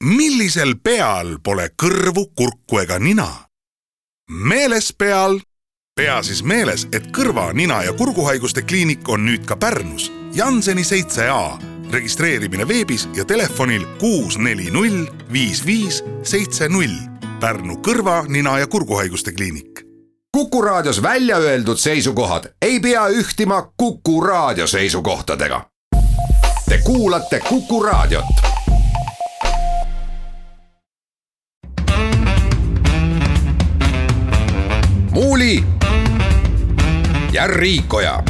Millisel peal pole kõrvu, kurku ega nina? Meeles peal. Pea siis meeles, et kõrva, nina ja kurguhaiguste kliinik on nüüd ka Pärnus. Janseni 7A. Registreerimine veebis ja telefonil 640 5570. Pärnu kõrva, nina ja kurguhaiguste kliinik. Kuku Raadios välja öeldud seisukohad ei pea ühtima Kuku Raadio seisukohtadega. Te kuulate Kuku Raadiot. Muuli ja Riikoja.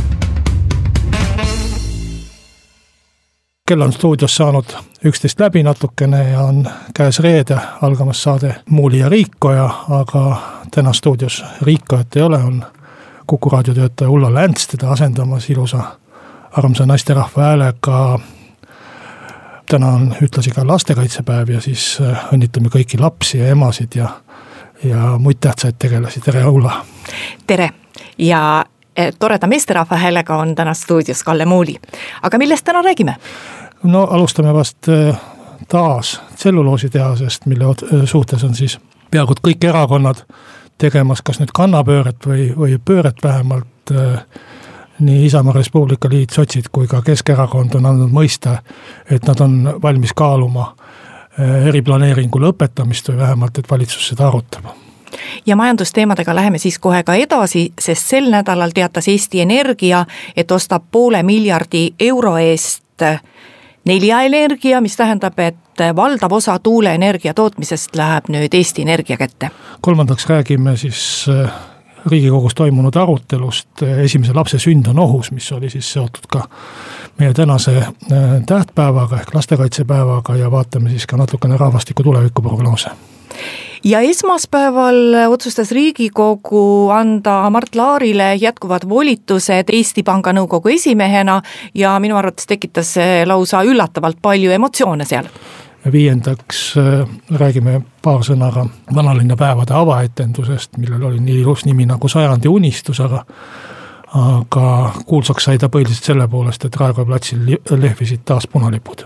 Kell on stuudios saanud 11 läbi natukene ja on käes reede algamas saade Muuli ja Riikoja, aga täna stuudios Riikojat ei ole, on Kuku Raadio töötaja Ulla Länts teda asendamas ilusa armsa naisterahva häälega. Täna on ühtlasi ka lastekaitsepäev ja siis õnnitleme kõiki lapsi ja emasid ja muid tähtsaid tegelasi. Tere, Ulla! Tere! Ja toreda meesterahva häälega on täna stuudios Kalle Muuli. Aga millest täna räägime? No alustame vast taas tselluloositehasest, mille suhtes on siis peaaegu kõik erakonnad tegemas kas nüüd kannapööret või pööret vähemalt. Nii Isamaa Res Publica Liit, sotsid kui ka Keskerakond on andnud mõista, et nad on valmis kaaluma eriplaneeringu lõpetamist või vähemalt, et valitsus seda arutab. Ja majandusteemadega läheme siis kohe ka edasi, sest sel nädalal teatas Eesti Energia, et ostab €500 miljardi eest Nelja Energia, mis tähendab, et valdav osa tuuleenergia tootmisest läheb nüüd Eesti Energia kätte. Kolmandaks räägime siis Riigikogus toimunud arutelust. Esimese lapse sünd on ohus, mis oli siis seotud ka meie tänase tähtpäevaga ehk lastekaitsepäevaga ja vaatame siis ka natukene rahvastiku tulevikuprognoose. Ja esmaspäeval otsustas Riigikogu anda Mart Laarile jätkuvad volitused Eesti Panga nõukogu esimehena ja minu arvates tekitas lausa üllatavalt palju emotsioone seal. Ja viiendaks räägime paar sõnaga vanalinna päevade avaetendusest, millel oli nii ilus nimi nagu Sajandi unistus, aga kuulsaks sai ta põhiliselt selle poolest, et Raekoja platsil lehvisid taas punalipud.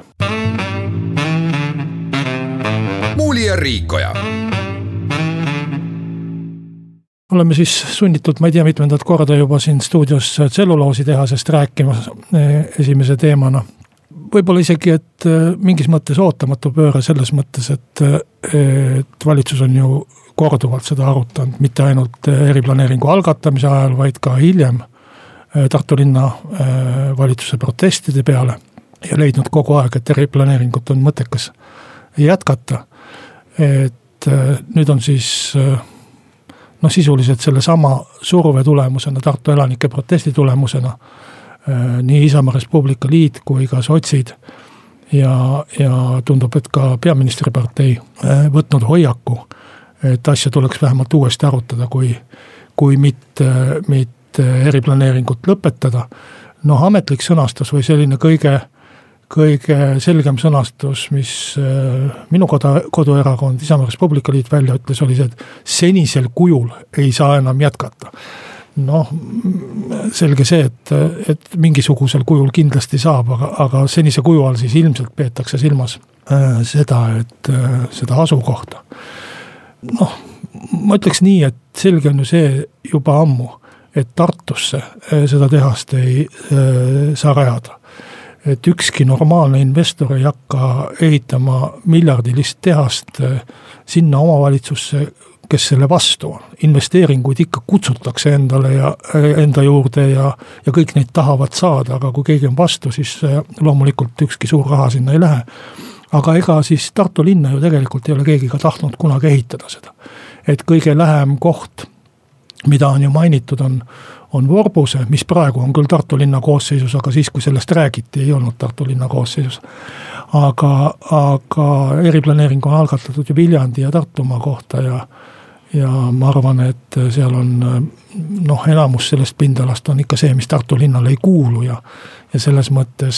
Muuli ja Riikoja. Oleme siis sunnitud, ma ei tea, mitmendat korda juba siin stuudios tselluloositehasest rääkimas esimese teemana. Võib-olla isegi, et mingis mõttes ootamatu pööre selles mõttes, et valitsus on ju korduvalt seda arutanud, mitte ainult eriplaneeringu algatamise ajal, vaid ka hiljem Tartu linna valitsuse protestide peale ja leidnud kogu aeg, et eriplaneeringut on mõttekas jätkata. Et nüüd on siis sisuliselt selle sama surve tulemusena, Tartu elanike protesti tulemusena, nii Isamaa Res Publica Liit kui ka sotsid ja tundub, et ka peaministripartei võtnud hoiaku, et asja tuleks vähemalt uuesti arutada, kui mitte eriplaneeringut lõpetada. Ametlik sõnastus või selline kõige selgem sõnastus, mis minu koduerakond Isamaa Res Publica Liit välja ütles, oli see, et senisel kujul ei saa enam jätkata. Selge see, et mingisugusel kujul kindlasti saab, aga senise kuju all siis ilmselt peetakse silmas seda, et seda asukohta. Ma ütleks nii, et selge on ju see juba ammu, et Tartusse seda tehast ei saa rajada. Et ükski normaalne investor ei hakka ehitama miljardilist tehast sinna omavalitsusse, kes selle vastu on. Investeeringuid ikka kutsutakse endale ja enda juurde ja kõik neid tahavad saada, aga kui keegi on vastu, siis loomulikult ükski suur raha sinna ei lähe. Aga ega siis Tartu linna ju tegelikult ei ole keegi ka tahtnud kunagi ehitada seda. Et kõige lähem koht, mida on ju mainitud, on Vorbuse, mis praegu on küll Tartu linna koosseisus, aga siis, kui sellest räägiti, ei olnud Tartu linna koosseisus. Aga eriplaneering on algatatud ju Viljandi ja Tartumaa kohta ja ma arvan, et seal on enamus sellest pindalast on ikka see, mis Tartu linnale ei kuulu ja selles mõttes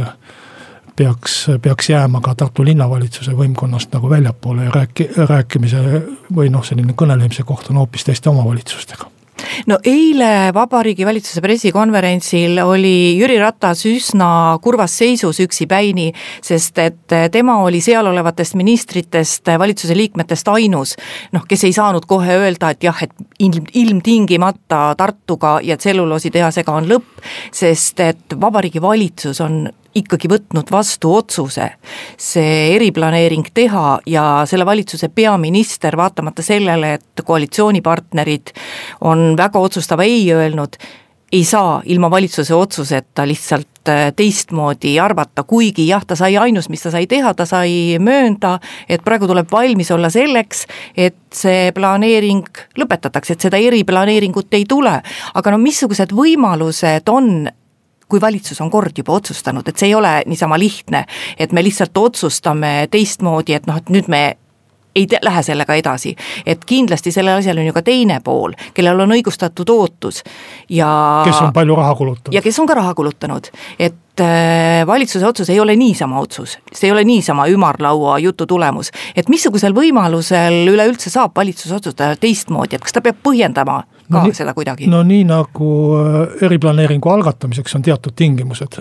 peaks jääma ka Tartu linnavalitsuse võimkonnast nagu väljapoole ja rääkimise või selline kõnelemise koht on hoopis teiste omavalitsustega. No eile Vabariigi Valitsuse pressikonverentsil oli Jüri Ratas üsna kurvas seisus üksipäini, sest et tema oli seal olevatest ministritest, valitsuse liikmetest ainus, kes ei saanud kohe öelda, et jah, et ilmtingimata Tartuga ja tselluloositehasega on lõpp, sest et Vabariigi Valitsus on ikkagi võtnud vastu otsuse see eriplaneering teha ja selle valitsuse peaminister, vaatamata sellele, et koalitsioonipartnerid on väga otsustava ei öelnud, ei saa ilma valitsuse otsuseta lihtsalt teistmoodi arvata, kuigi jah, ta sai ainus, mis ta sai teha, ta sai möönda, et praegu tuleb valmis olla selleks, et see planeering lõpetatakse, et seda eriplaneeringut ei tule. Aga missugused võimalused on, kui valitsus on kord juba otsustanud, et see ei ole niisama lihtne, et me lihtsalt otsustame teistmoodi, et et nüüd me ei lähe sellega edasi. Et kindlasti selle asjal on ju ka teine pool, kellel on õigustatud ootus. Ja kes on palju raha kulutanud. Ja kes on ka raha kulutanud. Et valitsuse otsus ei ole niisama otsus, see ei ole niisama ümarlaua jutu tulemus. Et missugusel võimalusel üleüldse saab valitsus otsustada teistmoodi, et kas ta peab põhjendama ka seda kuidagi? No nii nagu eriplaneeringu algatamiseks on teatud tingimused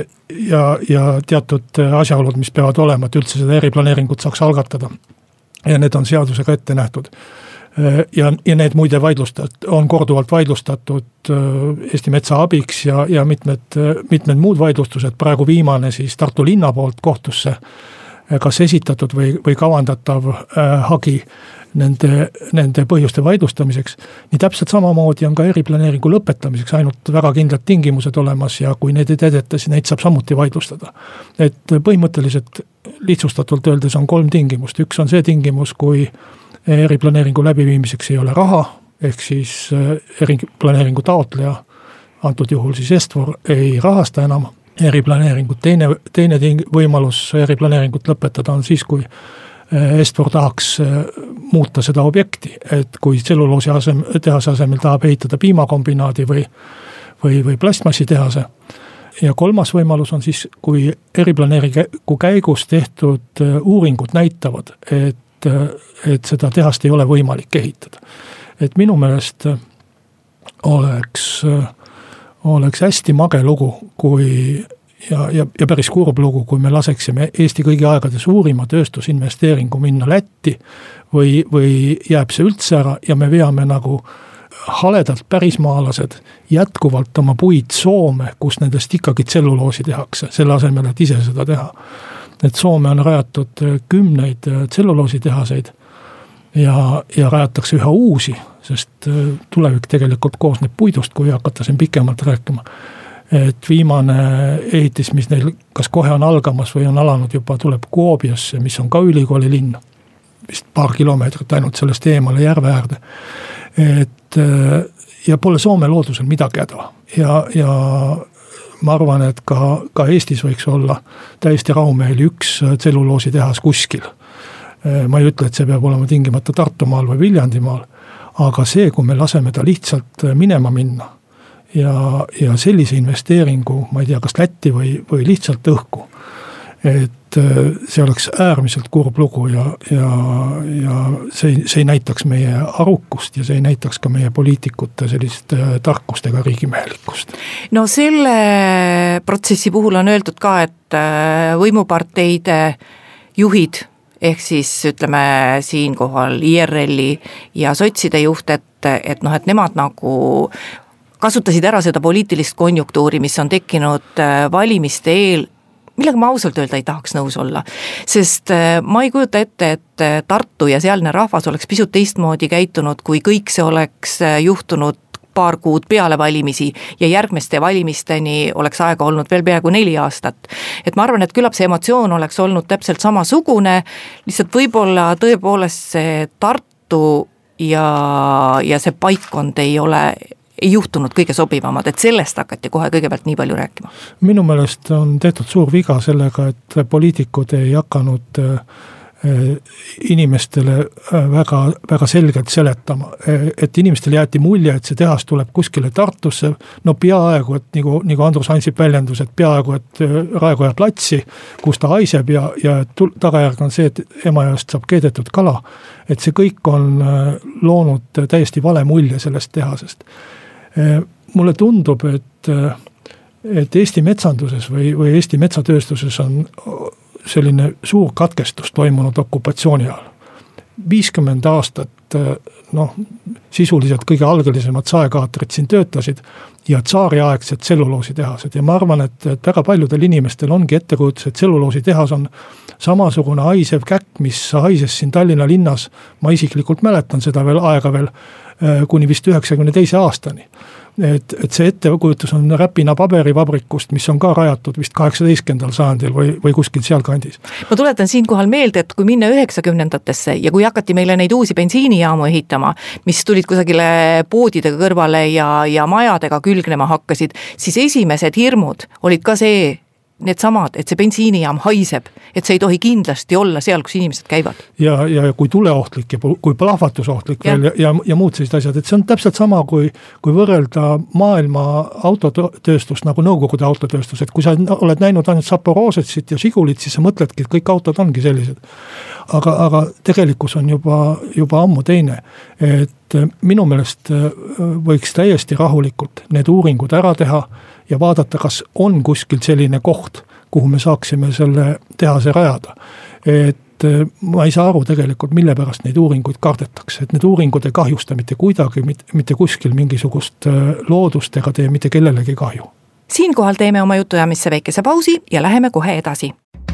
ja teatud asjaolud, mis peavad olema, et üldse seda eriplaneeringut saaks algatada. Ja need on seadusega ette nähtud. Ja need muide on korduvalt vaidlustatud Eesti Metsa abiks ja mitmed muud vaidlustused, praegu viimane siis Tartu linna poolt kohtusse kas esitatud või kavandatav hagi nende põhjuste vaidlustamiseks. Nii täpselt samamoodi on ka eriplaneeringu lõpetamiseks ainult väga kindlad tingimused olemas ja kui need ei täideta, siis neid saab samuti vaidlustada. Et põhimõtteliselt lihtsustatult öeldes on 3 tingimust. Üks on see tingimus, kui eriplaneeringu läbiviimiseks ei ole raha, ehk siis eriplaneeringu taotleja, antud juhul siis Est-For, ei rahasta enam eriplaneeringut. Teine võimalus eriplaneeringut lõpetada on siis, kui Est-For tahaks muuta seda objekti, et kui tselluloosi tehase asemel tahab ehitada piimakombinaadi või plastmassitehase. Ja 3. võimalus on siis, kui eriplaneeringu käigus tehtud uuringud näitavad, et seda tehast ei ole võimalik ehitada. Et minu meelest oleks hästi mage lugu, ja päris kurb lugu, kui me laseksime Eesti kõigi aegade suurima tööstusinvesteeringu minna Lätti või jääb see üldse ära ja me veame nagu haledalt pärismaalased jätkuvalt oma puid Soome, kus nendest ikkagi tselluloosi tehakse, selle asemel, et ise seda teha. Et Soome on rajatud 10 tselluloositehaseid ja rajatakse üha uusi, sest tulevik tegelikult koosneb puidust, kui hakata siin pikemalt rääkima. Et viimane ehitis, mis neil kas kohe on algamas või on alanud juba, tuleb Kuopiasse, mis on ka ülikooli linn, vist paar kilomeetrit ainult sellest eemale järve äärde. Ja pole Soome loodusel midagi häda. Ja ma arvan, et ka Eestis võiks olla täiesti rahumehel üks tselluloositehas kuskil. Ma ei ütle, et see peab olema tingimata Tartumaal või Viljandimaal, aga see, kui me laseme ta lihtsalt minema minna ja sellise investeeringu, ma ei tea, kas Lätti või lihtsalt õhku, et see oleks äärmiselt kurb lugu ja see ei näitaks meie arukust ja see ei näitaks ka meie poliitikute sellist tarkust ega riigimehelikkust. No selle protsessi puhul on öeldud ka, et võimuparteide juhid, ehk siis ütleme siinkohal IRL-i ja sotside juht, et nemad nagu kasutasid ära seda poliitilist konjunktuuri, mis on tekkinud valimiste eel, millega ma ausalt öelda ei tahaks nõus olla. Sest ma ei kujuta ette, et Tartu ja sealne rahvas oleks pisut teistmoodi käitunud, kui kõik see oleks juhtunud paar kuud peale valimisi ja järgmiste valimisteni oleks aega olnud veel peaaegu 4 aastat. Et ma arvan, et küllap see emotsioon oleks olnud täpselt samasugune, lihtsalt võib-olla tõepoolest see Tartu ja see paikkond ei juhtunud kõige sobivamad, et sellest hakati kohe kõigepealt nii palju rääkima. Minu meelest on tehtud suur viga sellega, et poliitikud ei hakanud inimestele väga, väga selgelt seletama, et inimestele jäeti mulje, et see tehas tuleb kuskile Tartusse, no peaaegu, et nagu Andrus Ansip väljendus, et peaaegu, et Raekoja platsi, kus ta haiseb ja tagajärg on see, et Emajõest saab keedetud kala, et see kõik on loonud täiesti vale mulje sellest tehasest. Mulle tundub, et Eesti metsanduses või Eesti metsatööstuses on selline suur katkestus toimunud okupatsiooni ajal. 50 aastat, sisuliselt kõige algelisemad saekaatrid siin töötasid ja tsaariaegsed tselluloositehased. Ja ma arvan, et väga paljudel inimestel ongi ettekujutus, et tselluloositehas on samasugune haisev käkk, mis haises siin Tallinna linnas. Ma isiklikult mäletan seda aega kuni vist 92 aastani. Et see ettekujutus on Räpina paberivabrikust, mis on ka rajatud vist 18. sajandil või kuskil seal kandis. Ma tuletan siinkohal meelde, et kui minna 90-ndatesse ja kui hakati meile neid uusi bensiinijaamu ehitama, mis tulid kusagile poodidega kõrvale ja majadega külgnema hakkasid, siis esimesed hirmud olid ka need samad, et see bensiinijaam haiseb, et see ei tohi kindlasti olla seal, kus inimesed käivad. Ja kui tuleohtlik ja kui plahvatusohtlik veel ja muud sellised asjad, et see on täpselt sama, kui võrrelda maailma autotööstust nagu Nõukogude autotööstus, et kui sa oled näinud ainult Zaporožetsit ja Žigulit, siis sa mõtledki, et kõik autod ongi sellised. Aga tegelikkus on juba ammu teine, et minu meelest võiks täiesti rahulikult need uuringud ära teha ja vaadata, kas on kuskil selline koht, kuhu me saaksime selle tehase rajada. Et ma ei saa aru tegelikult, mille pärast neid uuringuid kardetakse, et need uuringud ei kahjusta mitte kuidagi, mitte kuskil mingisugust loodust ega tee mitte kellelegi kahju. Siinkohal teeme oma jutujamisse väikese pausi ja läheme kohe edasi.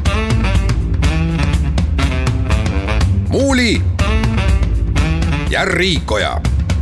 Muuli ja Riikoja.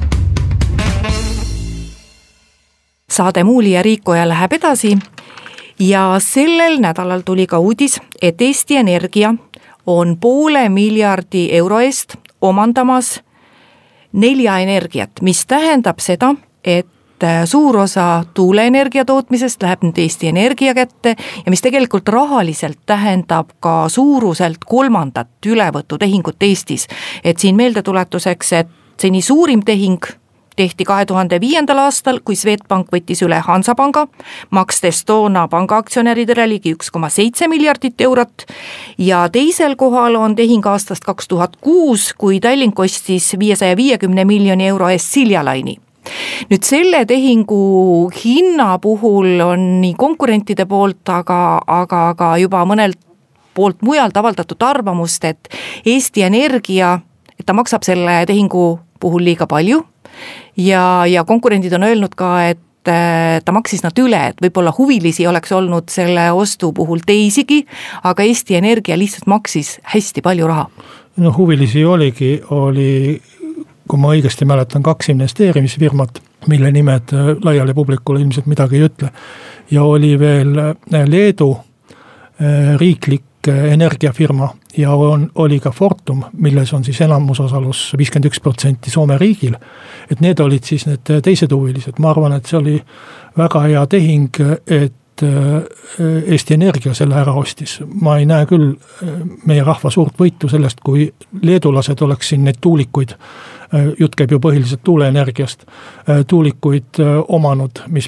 Saade Muuli ja Riikoja läheb edasi ja sellel nädalal tuli ka uudis, et Eesti Energia on 500 miljardi euro eest omandamas 4 energiat, mis tähendab seda, et suur osa tuuleenergia tootmisest läheb nüüd Eesti Energia kätte ja mis tegelikult rahaliselt tähendab ka suuruselt 3. ülevõtutehingut Eestis. Et siin meeldetuletuseks, et seni suurim tehing tehti 2005. aastal, kui Swedbank võttis üle Hansapanga, makstes toona pangaaktsionäridele ligi 1,7 miljardit eurot ja teisel kohal on tehing aastast 2006, kui Tallink ostis 550 miljoni euro eest Siljalaini. Nüüd selle tehingu hinna puhul on nii konkurentide poolt, aga juba mõnelt poolt mujalt avaldatud arvamust, et Eesti Energia, et ta maksab selle tehingu puhul liiga palju ja konkurendid on öelnud ka, et ta maksis nad üle, et võib-olla huvilisi oleks olnud selle ostu puhul teisigi, aga Eesti Energia lihtsalt maksis hästi palju raha. No huvilisi oli, kui ma õigesti mäletan, 2 investeerimisfirmat, mille nimed laiali publikule ilmselt midagi ei ütle. Ja oli veel Leedu riiklik energiafirma ja oli ka Fortum, milles on siis enamusosalus 51% Soome riigil. Et need olid siis need teised huvilised. Ma arvan, et see oli väga hea tehing, et Eesti Energia selle ära ostis. Ma ei näe küll meie rahva suurt võitu sellest, kui leedulased oleks siin neid tuulikuid, jutt käib ju põhiliselt tuuleenergiast, tuulikuid omanud, mis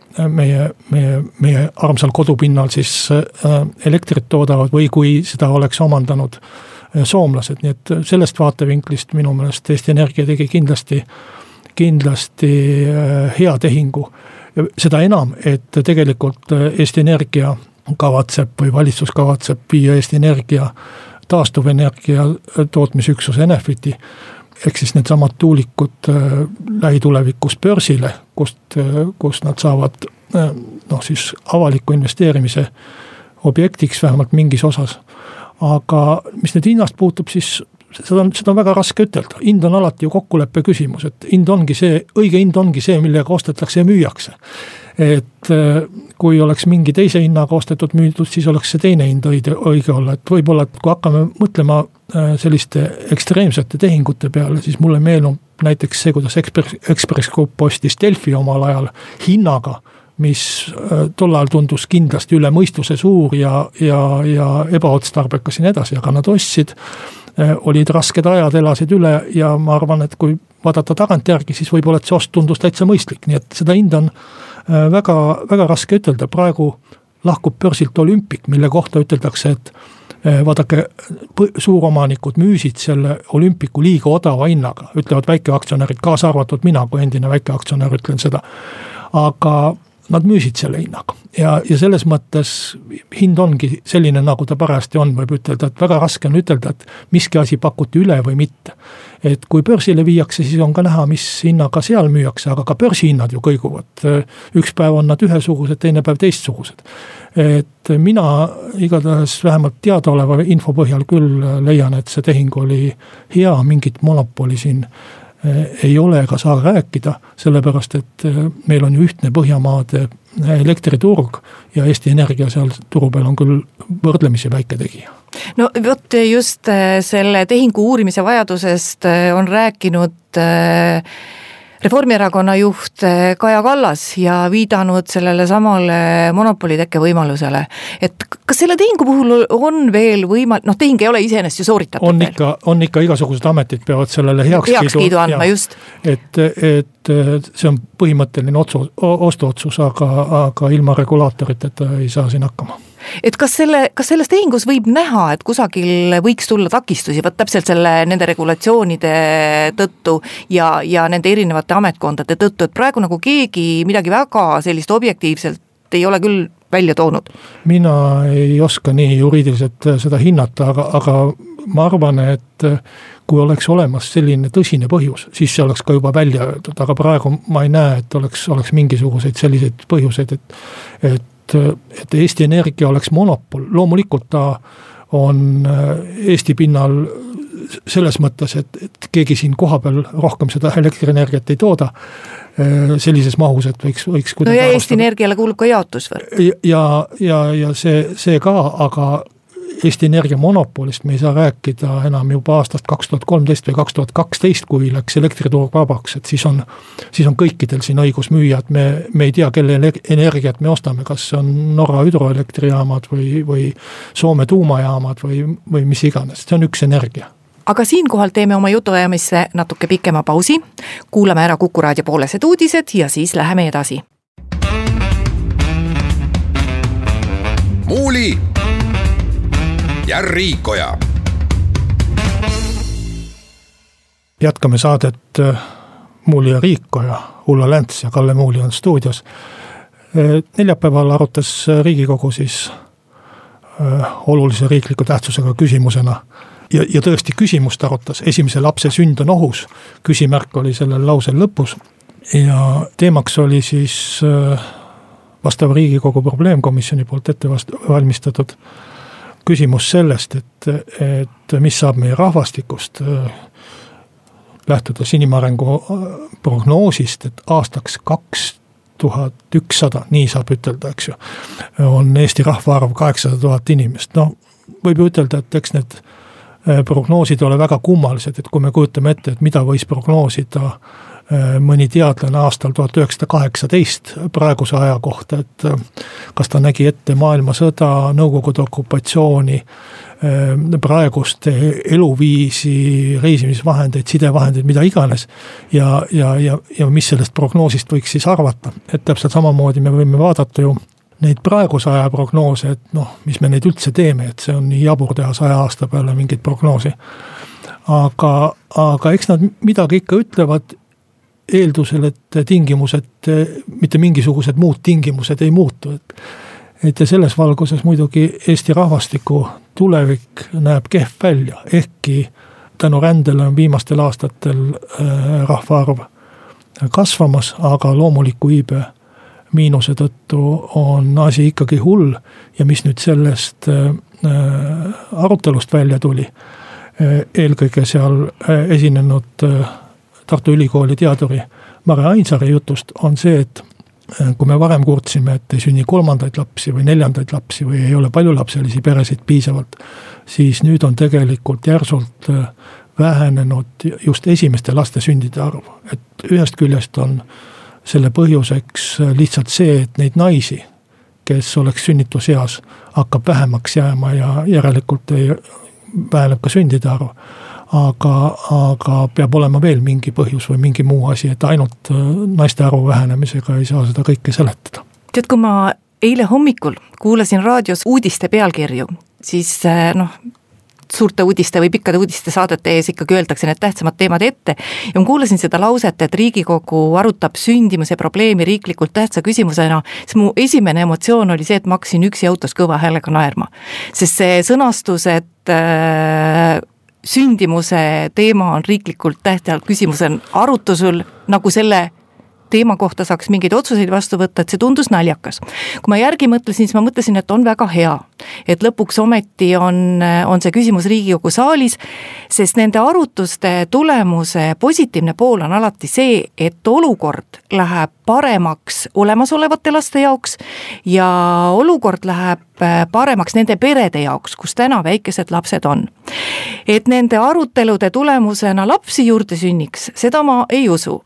meie armsal kodupinnal siis elektrit toodavad või kui seda oleks omandanud soomlased. Nii et sellest vaatevinklist minu meelest Eesti Energia tegi kindlasti hea tehingu. Seda enam, et tegelikult Eesti Energia kavatseb või valitsus kavatseb viia Eesti Energia taastuvenergia tootmisüksuse Enefiti, ehk siis need samad tuulikud lähitulevikus börsile, kust nad saavad siis avaliku investeerimise objektiks vähemalt mingis osas. Aga mis nüüd hinnast puutub, siis seda on väga raske ütelda. Hind on alati ju kokkuleppe küsimus, et õige hind ongi see, millega ostetakse ja müüakse. Et kui oleks mingi teise hinnaga ostetud müüdud, siis oleks see teine hind õige olla. Et võib-olla, et kui hakkame mõtlema selliste ekstreemsete tehingute peale, siis mulle meenub näiteks see, kuidas Ekspress Group ostis Delfi omal ajal hinnaga, mis tol ajal tundus kindlasti üle mõistuse suur ja ebaotstarbekas ja nii edasi, aga nad ostsid, olid rasked ajad, elasid üle ja ma arvan, et kui vaadata tagantjärgi, siis võib-olla, et see ost tundus täitsa mõistlik, nii et seda hinda on väga, väga raske ütelda. Praegu lahkub börsilt Olümpik, mille kohta üteldakse, et vaadake, suuromanikud müüsid selle Olümpiku liiga odava hinnaga, ütlevad väikeaktsionärid, kaasa arvatud mina, kui endine väikeaktsionär ütlen seda, aga nad müüsid selle hinnaga ja selles mõttes hind ongi selline, nagu ta parajasti on, võib ütelda, et väga raske on ütelda, et miski asi pakuti üle või mitte. Et kui börsile viiakse, siis on ka näha, mis hinnaga seal müüakse, aga ka börsihinnad ju kõiguvad. Üks päev on nad ühesugused, teine päev teistsugused. Et mina igatahes vähemalt teadaoleva info põhjal küll leian, et see tehing oli hea, mingit monopoli siin ei ole ega saa rääkida, sellepärast, et meil on ju ühtne Põhjamaade elektriturg ja Eesti Energia seal turu peal on küll võrdlemisi väike tegija. No vot just selle tehingu uurimise vajadusest on rääkinud Reformierakonna juht Kaja Kallas ja viidanud sellele samale monopolitekke võimalusele. Et kas selle tehingu puhul on veel tehing ei ole iseenesest ju sooritatud on ikka igasugused ametid peavad sellele heakskiidu andma, just. Et see on põhimõtteline ostuotsus, aga ilma regulaaatoriteta ei saa siin hakkama. Et kas selles tehingus võib näha, et kusagil võiks tulla takistusi, täpselt nende regulatsioonide tõttu ja nende erinevate ametkondade tõttu, et praegu nagu keegi midagi väga sellist objektiivselt ei ole küll välja toonud? Mina ei oska nii juriidiliselt seda hinnata, aga ma arvan, et kui oleks olemas selline tõsine põhjus, siis see oleks ka juba välja öeldud, aga praegu ma ei näe, et oleks mingisuguseid selliseid põhjuseid, et Eesti Energia oleks monopol. Loomulikult ta on Eesti pinnal selles mõttes, et keegi siin kohapeal rohkem seda elektrienergiat ei tooda sellises mahus, et võiks no ja Eesti Energiale kuulub ka jaotusvõrk. Ja see ka, aga Eesti Energia monopolist me ei saa rääkida enam juba aastast 2013 või 2012, kui läks elektriturg vabaks, et siis on kõikidel siin õigus müüa, et me ei tea, kelle energiat me ostame, kas on Norra hüdroelektrijaamad või Soome tuumajaamad või mis iganes, see on üks energia. Aga siinkohal teeme oma jutuajamisse natuke pikema pausi, kuulame ära Kuku Raadio poolesed uudised ja siis läheme edasi. Muuli ja Riikoja. Jätkame saadet Muuli ja Riikoja, Ulla Länts ja Kalle Muuli on stuudios. Neljapäeval arutas Riigikogu siis olulise riikliku tähtsusega küsimusena ja tõesti küsimust arutas, esimese lapse sünd on ohus, küsimärk oli sellel lausel lõpus ja teemaks oli siis vastava Riigikogu probleemkomisjoni poolt ette valmistatud küsimus sellest, et mis saab meie rahvastikust, lähtudes inimarengu prognoosist, et aastaks 2100, nii saab ütelda, eks ju, on Eesti rahvaarv 800 000 inimest. No võib ju ütelda, et eks need prognoosid ole väga kummalised, et kui me kujutame ette, et mida võis prognoosida mõni teadlane aastal 1918 praeguse aja kohta, et kas ta nägi ette maailmasõda, Nõukogude okupatsiooni, praegust eluviisi, reisimisvahendeid, sidevahendeid, mida iganes ja mis sellest prognoosist võiks siis arvata. Et täpselt samamoodi me võime vaadata ju neid praeguse aja prognoose, et mis me neid üldse teeme, et see on nii jabur teha 100 aasta peale mingit prognoosi. Aga eks nad midagi ikka ütlevad eeldusel, et tingimused, mitte mingisugused muud tingimused ei muutu. Et selles valguses muidugi Eesti rahvastiku tulevik näeb kehv välja, ehkki tänu rändele on viimastel aastatel rahvaarv kasvamas, aga loomuliku iibe miinuse tõttu on asi ikkagi hull ja mis nüüd sellest arutelust välja tuli, eelkõige seal esinenud Tartu Ülikooli teaduri Mare Ainsaari jutust on see, et kui me varem kurtsime, et ei sünni 3. lapsi või 4. lapsi või ei ole paljulapselisi peresid piisavalt, siis nüüd on tegelikult järsult vähenenud just esimeste laste sündide arv. Et ühest küljest on selle põhjuseks lihtsalt see, et neid naisi, kes oleks sünnituseas, hakkab vähemaks jääma ja järelikult väheneb ka sündide arv. Aga peab olema veel mingi põhjus või mingi muu asi, et ainult naiste arvu vähenemisega ei saa seda kõike seletada. Tead, kui ma eile hommikul kuulasin raadios uudiste pealkirju, siis suurte uudiste või pikkade uudiste saadete ees ikkagi öeldakse need tähtsamad teemad ette ja ma kuulasin seda lauset, et Riigikogu arutab sündimuse probleemi riiklikult tähtsa küsimusena, siis mu esimene emotsioon oli see, et ma hakkasin üksi autos kõva häälega naerma, sest see sõnastus, et sündimuse teema on riiklikult tähtsal küsimusel arutusel, nagu selle teema kohta saaks mingeid otsuseid vastu võtta, et see tundus naljakas. Kui ma järgi mõtlesin, siis ma mõtlesin, et on väga hea, et lõpuks ometi on see küsimus Riigikogu saalis, sest nende arutuste tulemuse positiivne pool on alati see, et olukord läheb paremaks olemasolevate laste jaoks ja olukord läheb paremaks nende perede jaoks, kus täna väikesed lapsed on. Et nende arutelude tulemusena lapsi juurde sünniks, seda ma ei usu.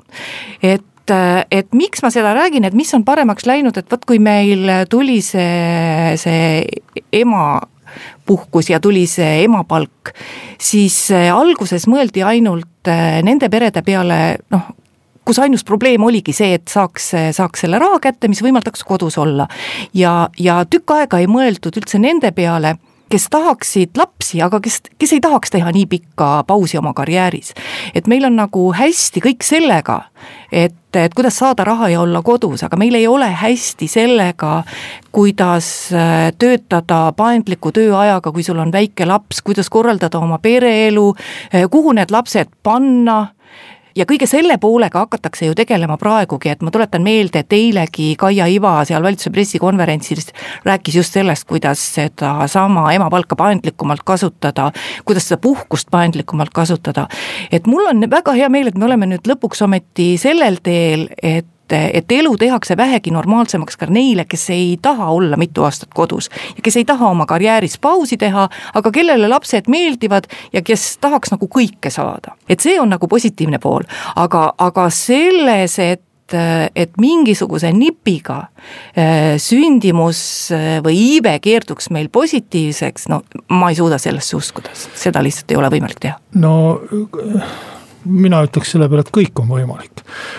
Et miks ma seda räägin, et mis on paremaks läinud, et võt kui meil tuli see ema puhkus ja tuli see emapalk, siis alguses mõeldi ainult nende perede peale, kus ainus probleem oligi see, et saaks selle raha kätte, mis võimaldaks kodus olla. Ja tükk aega ei mõeldud üldse nende peale, kes tahaksid lapsi, aga kes ei tahaks teha nii pikka pausi oma karjääris. Et meil on nagu hästi kõik sellega, et kuidas saada raha ja olla kodus, aga meil ei ole hästi sellega, kuidas töötada paindliku tööajaga, kui sul on väike laps, kuidas korraldada oma pereelu, kuhu need lapsed panna. Ja kõige selle poolega hakatakse ju tegelema praegugi, et ma tuletan meelde, et eilegi Kaia Iva seal valitsuse pressikonverentsil rääkis just sellest, kuidas seda sama emapalka paindlikumalt kasutada, kuidas seda puhkust paindlikumalt kasutada. Et mul on väga hea meel, et me oleme nüüd lõpuks ometi sellel teel, et elu tehakse vähegi normaalsemaks ka neile, kes ei taha olla mitu aastat kodus ja kes ei taha oma karjääris pausi teha, aga kellele lapsed meeldivad ja kes tahaks nagu kõike saada. Et see on nagu positiivne pool, aga selles, et mingisuguse nipiga sündimus või iive keerduks meil positiivseks, ma ei suuda sellesse uskuda, seda lihtsalt ei ole võimalik teha. Mina ütleks selle peale, et kõik on võimalik.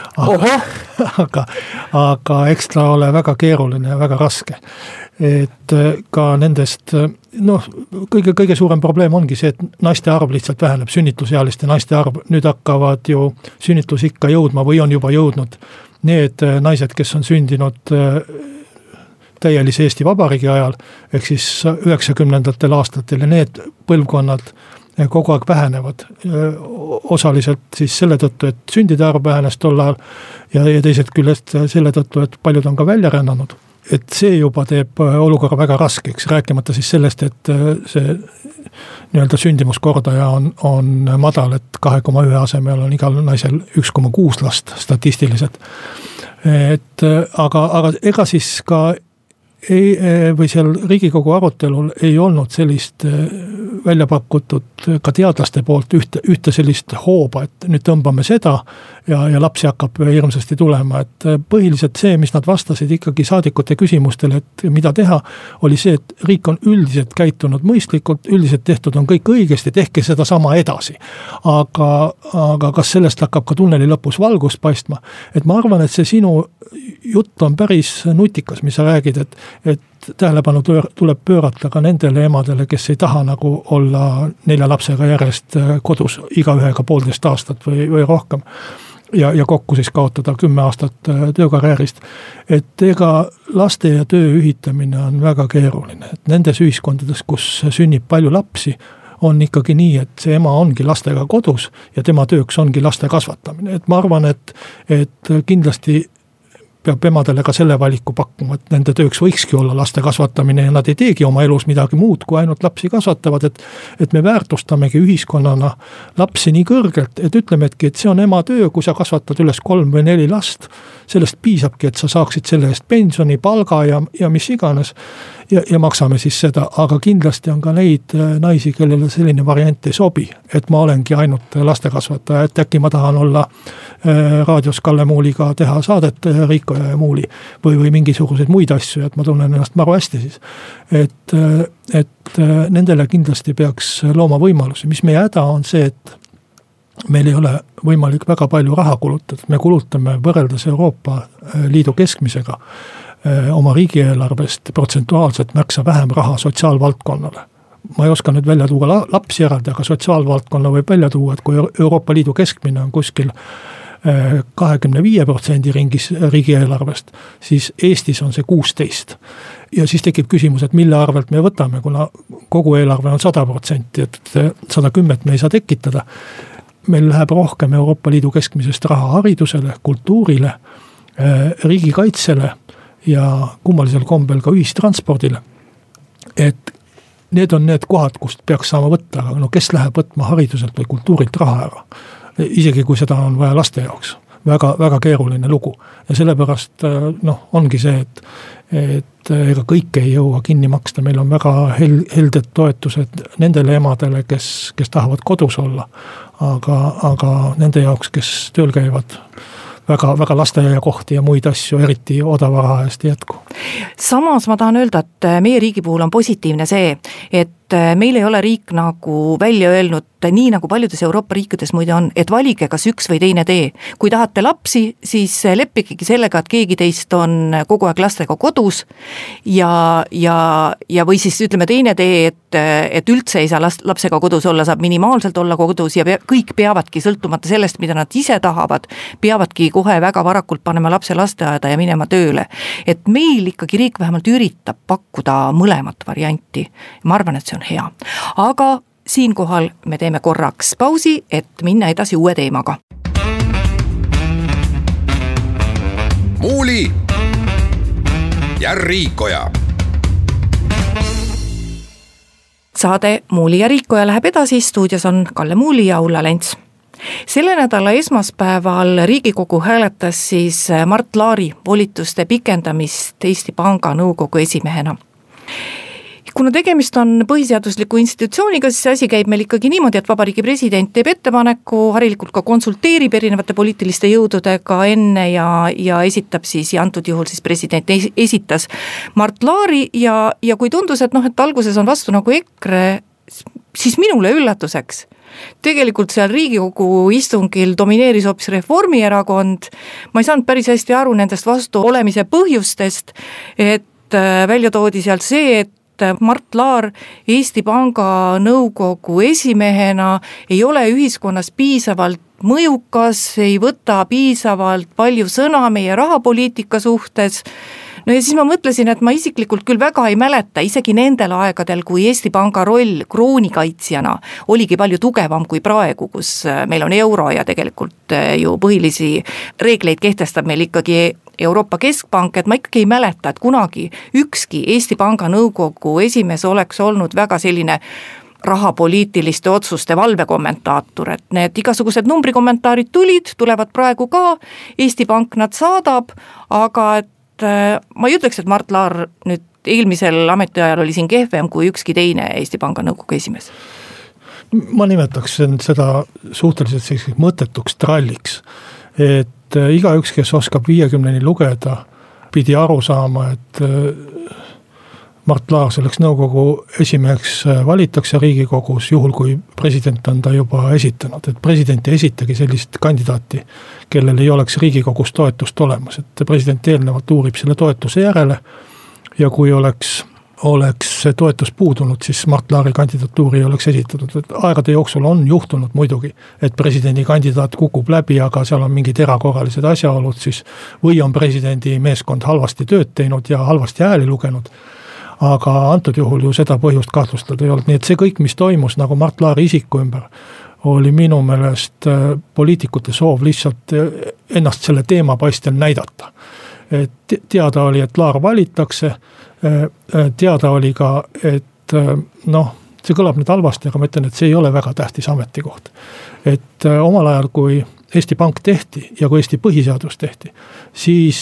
Aga eks ta ole väga keeruline ja väga raske. Et ka nendest, kõige suurem probleem ongi see, et naiste arv lihtsalt väheneb, sünnitusealiste naiste arv. Nüüd hakkavad ju sünnitusikka jõudma või on juba jõudnud need naised, kes on sündinud täielise Eesti Vabariigi ajal, ehk siis 90ndatel aastatel ja need põlvkonnad kogu aeg vähenevad, osaliselt siis selle tõttu, et sündide arv vähenes tol ajal ja teised küljest selle tõttu, et paljud on ka välja rännanud. Et see juba teeb olukorra väga raskeks, rääkimata siis sellest, et see nii-öelda sündimuskordaja on madal, et 2,1 asemel on igal naisel 1,6 last statistiliselt. Aga ega siis ka või seal Riigikogu arutelul ei olnud sellist välja pakutud ka teadlaste poolt ühte sellist hooba, et nüüd tõmbame seda ja lapsi hakkab hirmsasti tulema, et põhiliselt see, mis nad vastasid ikkagi saadikute küsimustele, et mida teha, oli see, et riik on üldiselt käitunud mõistlikult, üldiselt tehtud on kõik õigesti, tehke seda sama edasi. Aga kas sellest hakkab ka tunneli lõpus valgust paistma? Et ma arvan, et see sinu jutt on päris nutikas, mis sa räägid, et tähelepanu tuleb pöörata ka nendele emadele, kes ei taha nagu olla 4 lapsega järjest kodus igaühega 1,5 aastat või rohkem ja kokku siis kaotada 10 aastat töökarjäärist. Et ega laste ja töö ühitamine on väga keeruline. Et nendes ühiskondades, kus sünnib palju lapsi, on ikkagi nii, et see ema ongi lastega kodus ja tema tööks ongi laste kasvatamine. Et ma arvan, et kindlasti peab emadele ka selle valiku pakkuma, et nende tööks võikski olla laste kasvatamine ja nad ei teegi oma elus midagi muud, kui ainult lapsi kasvatavad, et me väärtustamegi ühiskonnana lapsi nii kõrgelt, et ütlemegi, et see on ema töö, kui sa kasvatad üles 3 või 4 last, sellest piisabki, et sa saaksid selle eest pensioni, palga ja mis iganes ja maksame siis seda, aga kindlasti on ka neid naisi, kellele selline variant ei sobi, et ma olengi ainult lastekasvataja, et äkki ma tahan olla raadios Kalle Muuliga teha saadet Riiko ja Muuli või mingisuguseid muid asju, et ma tunnen ennast maru hästi siis. Et nendele kindlasti peaks looma võimalusi, mis meie häda on see, et meil ei ole võimalik väga palju raha kulutada, me kulutame võrreldes Euroopa Liidu keskmisega oma riigieelarvest protsentuaalselt märksa vähem raha sotsiaalvaldkonnale. Ma ei oska nüüd välja tuua lapsi eraldi, aga sotsiaalvaldkonna võib välja tuua, et kui Euroopa Liidu keskmine on kuskil 25% ringis riigieelarvest, siis Eestis on see 16%. Ja siis tekib küsimus, et mille arvelt me võtame, kuna kogu eelarve on 100%, et 110 me ei saa tekitada. Meil läheb rohkem Euroopa Liidu keskmisest raha haridusele, kultuurile, riigikaitsele ja kummalisel kombel ka ühistranspordile. Et need on need kohad, kust peaks saama võtta, aga kes läheb võtma hariduselt või kultuurilt raha ära? Isegi kui seda on vaja laste jaoks. Väga, väga keeruline lugu. Ja sellepärast ongi see, et ega kõik ei jõua kinni maksta. Meil on väga helded toetused nendele emadele, kes tahavad kodus olla. Aga nende jaoks, kes tööl käivad, väga lasteaia kohti ja muid asju, eriti odava raha eest jätku. Samas ma tahan öelda, et meie riigi puhul on positiivne see, et meil ei ole riik nagu välja öelnud, nii nagu paljudes Euroopa riikides muide on, et valige kas üks või teine tee. Kui tahate lapsi, siis leppigegi sellega, et keegi teist on kogu aeg lastega kodus ja või siis ütleme teine tee, et üldse ei saa lapsega kodus olla, saab minimaalselt olla kodus ja kõik peavadki sõltumata sellest, mida nad ise tahavad, peavadki kohe väga varakult panema lapse lasteaeda ja minema tööle. Et meil ikkagi riik vähemalt üritab pakkuda mõlemat varianti. Ma arvan, et see on hea. Aga siinkohal me teeme korraks pausi, et minna edasi uue teemaga. Muuli ja Riikoja. Saade Muuli ja Riikoja läheb edasi, stuudios on Kalle Muuli ja Ulla Lents. Selle nädala esmaspäeval Riigikogu hääletas siis Mart Laari volituste pikendamist Eesti Panga nõukogu esimehena. Kuna tegemist on põhiseadusliku institutsiooniga, siis asi käib meil ikkagi niimoodi, et Vabariigi president teeb ettepaneku, harilikult ka konsulteerib erinevate poliitiliste jõududega enne ja esitab siis, ja antud juhul siis president esitas Mart Laari ja kui tundus, et alguses on vastu nagu EKRE, siis minule üllatuseks. Tegelikult seal Riigikogu istungil domineeris hoopis Reformierakond. Ma ei saanud päris hästi aru nendest vastu olemise põhjustest, et välja toodi sealt see, et Mart Laar Eesti Panga nõukogu esimehena ei ole ühiskonnas piisavalt mõjukas, ei võta piisavalt palju sõna meie rahapoliitika suhtes. No ja siis ma mõtlesin, et ma isiklikult küll väga ei mäleta, isegi nendel aegadel, kui Eesti Panga roll kroonikaitsjana oligi palju tugevam kui praegu, kus meil on euro ja tegelikult ju põhilisi reegleid kehtestab meil ikkagi Euroopa Keskpank, et ma ikkagi ei mäleta, et kunagi ükski Eesti Panga nõukogu esimees oleks olnud väga selline rahapoliitiliste otsuste valvekommentaator, et need igasugused numbrikommentaarid tulevad praegu ka, Eesti Pank nad saadab, aga et ma ei ütleks, et Mart Laar nüüd eelmisel ametiajal oli siin kehvem kui ükski teine Eesti Panga nõukogu esimees. Ma nimetaks seda suhteliselt selliseks mõttetuks tralliks, et igaüks, kes oskab 50-ni lugeda, pidi aru saama, et Mart Laar selleks nõukogu esimeheks valitakse Riigikogus, juhul kui president on ta juba esitanud, et president ei esitagi sellist kandidaati, kellel ei oleks Riigikogus toetust olemas, et president eelnevalt uurib selle toetuse järele ja kui oleks see toetus puudunud, siis Mart Laari kandidatuuri ei oleks esitatud. Et aegade jooksul on juhtunud muidugi, et presidendi kandidaat kukub läbi, aga seal on mingid erakorralised asjaolud siis, või on presidendi meeskond halvasti tööd teinud ja halvasti hääli lugenud. Aga antud juhul ju seda põhjust kahtlustada ei olnud. Nii et see kõik, mis toimus nagu Mart Laari isiku ümber, oli minu meelest poliitikute soov lihtsalt ennast selle teema paistel näidata. et teada oli, et Laar valitakse, teada oli ka, et see kõlab nüüd halvasti, aga ma ütlen, et see ei ole väga tähtis ametikoht. Et omal ajal, kui Eesti Pank tehti ja kui Eesti põhiseadus tehti, siis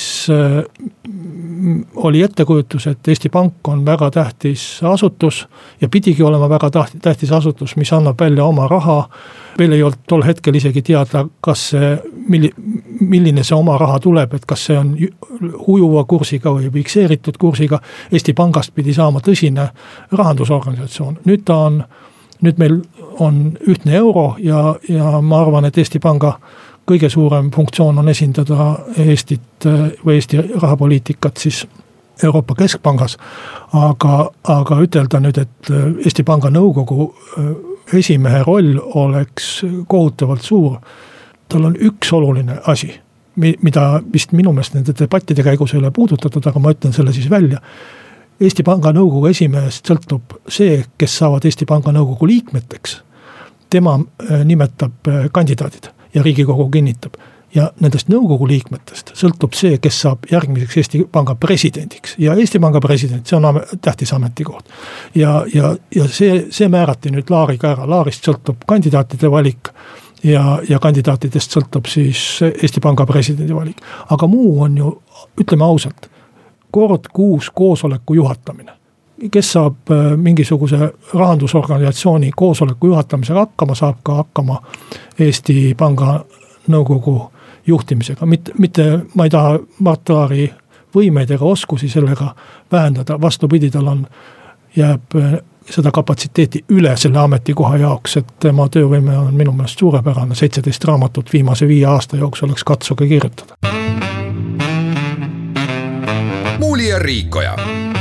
oli ettekujutus, et Eesti Pank on väga tähtis asutus ja pidigi olema väga tähtis asutus, mis annab välja oma raha. Veel ei olnud tol hetkel isegi teada, kas milline see oma raha tuleb, et kas see on ujuva kursiga või fikseeritud kursiga. Eesti Pangast pidi saama tõsine rahandusorganisatsioon. Nüüd meil on ühtne euro ja ma arvan, et Eesti Panga kõige suurem funktsioon on esindada Eestit või Eesti rahapoliitikat siis Euroopa Keskpangas, aga ütelda nüüd, et Eesti Panga nõukogu esimehe roll oleks kohutavalt suur. Tal on üks oluline asi, mida vist minu meelest nende debattide käigus ei ole puudutatud, aga ma ütlen selle siis välja. Eesti Panga nõukogu esimehest sõltub see, kes saavad Eesti Panga nõukogu liikmeteks. Tema nimetab kandidaadid ja Riigikogu kinnitab. Ja nendest nõukogu liikmetest sõltub see, kes saab järgmiseks Eesti Panga presidendiks. Ja Eesti Panga president, see on tähtis ametikoht. Ja see määrati nüüd Laariga ära. Laarist sõltub kandidaatide valik ja kandidaatidest sõltub siis Eesti Panga presidendi valik. Aga muu on ju, ütleme ausalt, kord kuus koosoleku juhatamine. Kes saab mingisuguse rahandusorganisatsiooni koosoleku juhatamisega hakkama, saab ka hakkama Eesti Panga nõukogu juhtimisega. Mitte ma ei taha Mart Laari võimeid ega oskusi sellega vähendada. Vastupidi, tal jääb seda kapatsiteeti üle selle ametikoha jaoks, et tema töövõime on minu meelest suurepärane. 17 raamatut viimase 5 aasta jooksul oleks katsuge kirjutada. Muuli ja Riikoja.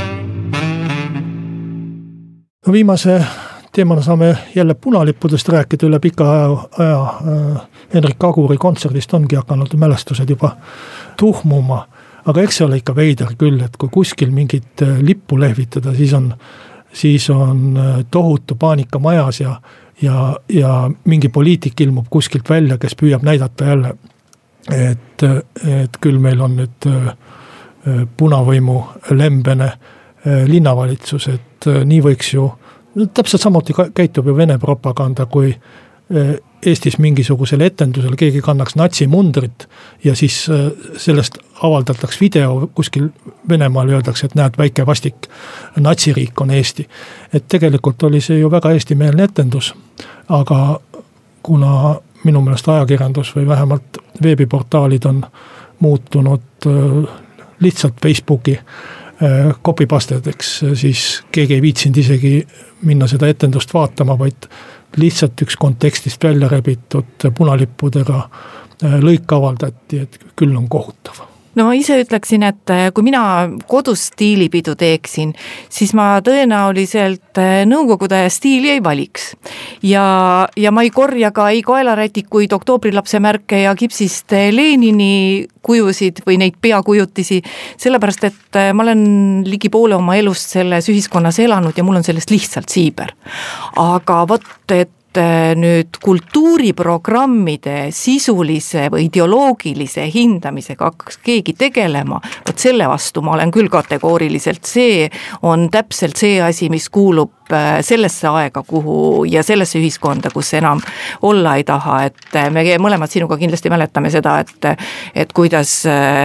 No viimase teemana saame jälle punalippudest rääkida üle pika aja. Henrik Aguri kontserdist ongi hakanud mälestused juba tuhmuma, aga eks see ole ikka veider küll, et kui kuskil mingit lippu lehvitada, siis on tohutu paanika majas ja mingi poliitik ilmub kuskilt välja, kes püüab näidata jälle, et küll meil on nüüd punavõimu lembene linnavalitsus, et nii võiks ju, täpselt samuti käitub ju Vene propaganda, kui Eestis mingisugusel etendusel keegi kannaks natsimundrit ja siis sellest avaldataks video kuskil Venemaal öeldakse, et näed, väike vastik natsiriik on Eesti. Et tegelikult oli see ju väga eestimeelne etendus, aga kuna minu meelest ajakirjandus või vähemalt veebiportaalid on muutunud lihtsalt Facebooki copypastedeks, siis keegi ei viitsinud isegi minna seda etendust vaatama, vaid lihtsalt üks kontekstist välja rebitud punalippudega lõik avaldati, et küll on kohutav. No ma ise ütleksin, et kui mina kodus stiilipidu teeksin, siis ma tõenäoliselt nõukogude stiili ei valiks. Ja ma ei korja ka ei kaelarätikuid, oktoobrilapse märke ja kipsist Lenini kujusid või neid peakujutisi, sellepärast, et ma olen ligi poole oma elust selles ühiskonnas elanud ja mul on sellest lihtsalt siiber. Aga vot, et nüüd kultuuriprogrammide sisulise või ideoloogilise hindamisega hakkaks keegi tegelema, vot selle vastu ma olen küll kategooriliselt, see on täpselt see asi, mis kuulub sellesse aega, kuhu ja sellesse ühiskonda, kus enam olla ei taha, et me mõlemad sinuga kindlasti mäletame seda, et kuidas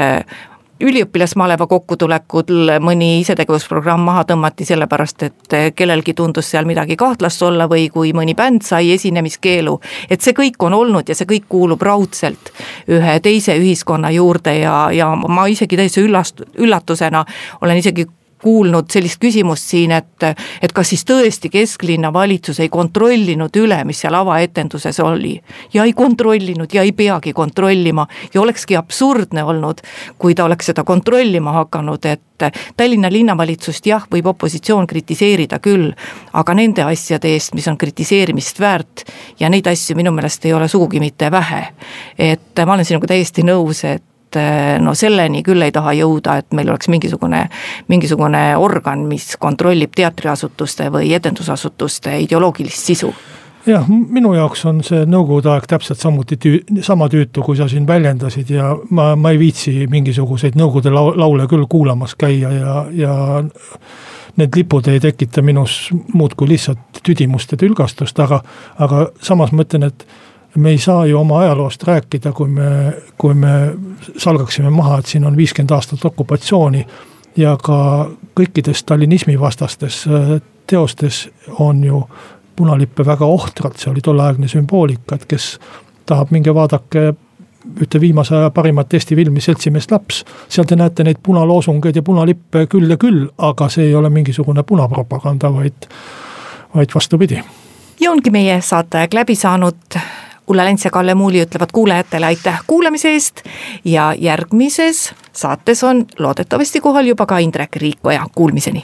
üliõpilasmaleva kokkutulekul mõni isetegevusprogramm maha tõmmati sellepärast, et kellelgi tundus seal midagi kahtlast olla või kui mõni bänd sai esinemiskeelu. Et see kõik on olnud ja see kõik kuulub raudselt ühe teise ühiskonna juurde ja ma isegi täiesti üllatusena olen isegi kuulnud sellist küsimust siin, et kas siis tõesti kesklinna valitsus ei kontrollinud üle, mis seal avaetenduses oli. Ja ei kontrollinud ja ei peagi kontrollima ja olekski absurdne olnud, kui ta oleks seda kontrollima hakanud, et Tallinna linnavalitsust jah, võib opositsioon kritiseerida küll, aga nende asjade eest, mis on kritiseerimist väärt ja neid asju minu meelest ei ole sugugi mitte vähe. Et ma olen sinuga täiesti nõus, et no selleni küll ei taha jõuda, et meil oleks mingisugune organ, mis kontrollib teatriasutuste või etendusasutuste ideoloogilist sisu. jah, minu jaoks on see nõukogude aeg täpselt sama tüütu, kui sa siin väljendasid ja ma ei viitsi mingisuguseid nõukogude laule küll kuulamas käia ja need lipud ei tekita minus muud kui lihtsalt tüdimust ja tülgastust, aga samas mõtlen, et me ei saa ju oma ajaloost rääkida, kui me salgaksime maha, et siin on 50 aastat okupatsiooni ja ka kõikides stalinismi vastastes teostes on ju punalippe väga ohtralt, see oli tolleaegne sümboolika, et kes tahab minge vaadake ühte viimase aja parimat Eesti filmi Seltsimees laps, seal te näete neid punaloosungeid ja punalippe küll ja küll, aga see ei ole mingisugune punapropaganda, vaid vastupidi. Ja ongi meie saateaeg läbi saanud. Ulla Lents ja Kalle Muuli ütlevad kuulajatele aitäh kuulamise eest ja järgmises saates on loodetavasti kohal juba ka Indrek Riikoja. Kuulmiseni.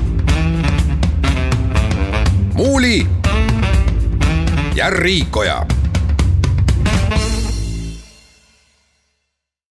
Muuli ja Riikoja.